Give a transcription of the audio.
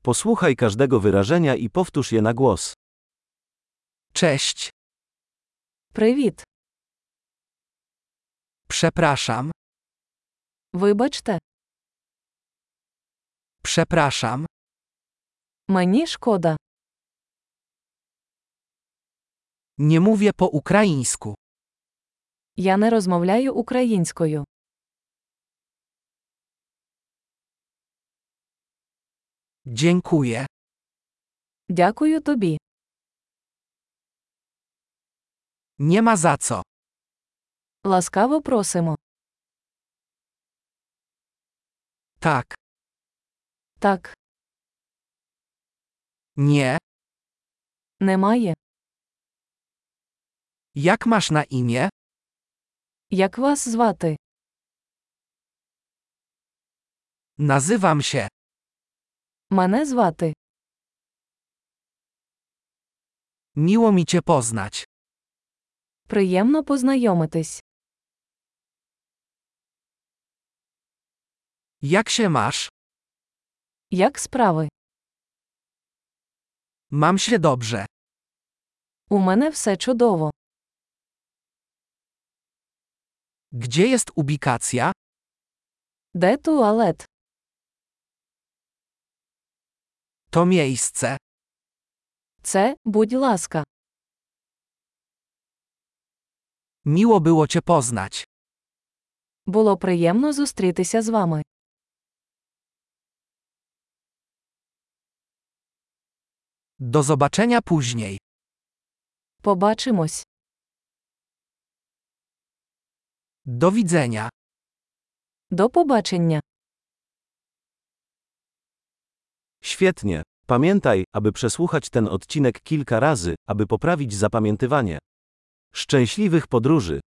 Posłuchaj każdego wyrażenia i powtórz je na głos. Cześć. Привіт. Przepraszam. Вибачте, Przepraszam. мені шкода. Nie mówię po ukraińsku. Я не розмовляю українською. Dziękuję. Дякую тобі. Nie ma za co. Ласкаво просимо. Tak. Так, Nie. немає. Jak masz na imię? Як вас звати? Nazywam się. Мене звати. Miło mi cię poznać. Приємно познайомитись. Jak się masz? Як справи? Mam się dobrze. У мене все чудово. Gdzie jest ubikacja? Де туалет? To miejsce. Це, будь ласка. Miło było cię poznać. Було приємно зустрітися з вами. Do zobaczenia później. Побачимось. Do widzenia. До побачення. Świetnie. Pamiętaj, aby przesłuchać ten odcinek kilka razy, aby poprawić zapamiętywanie. Szczęśliwych podróży!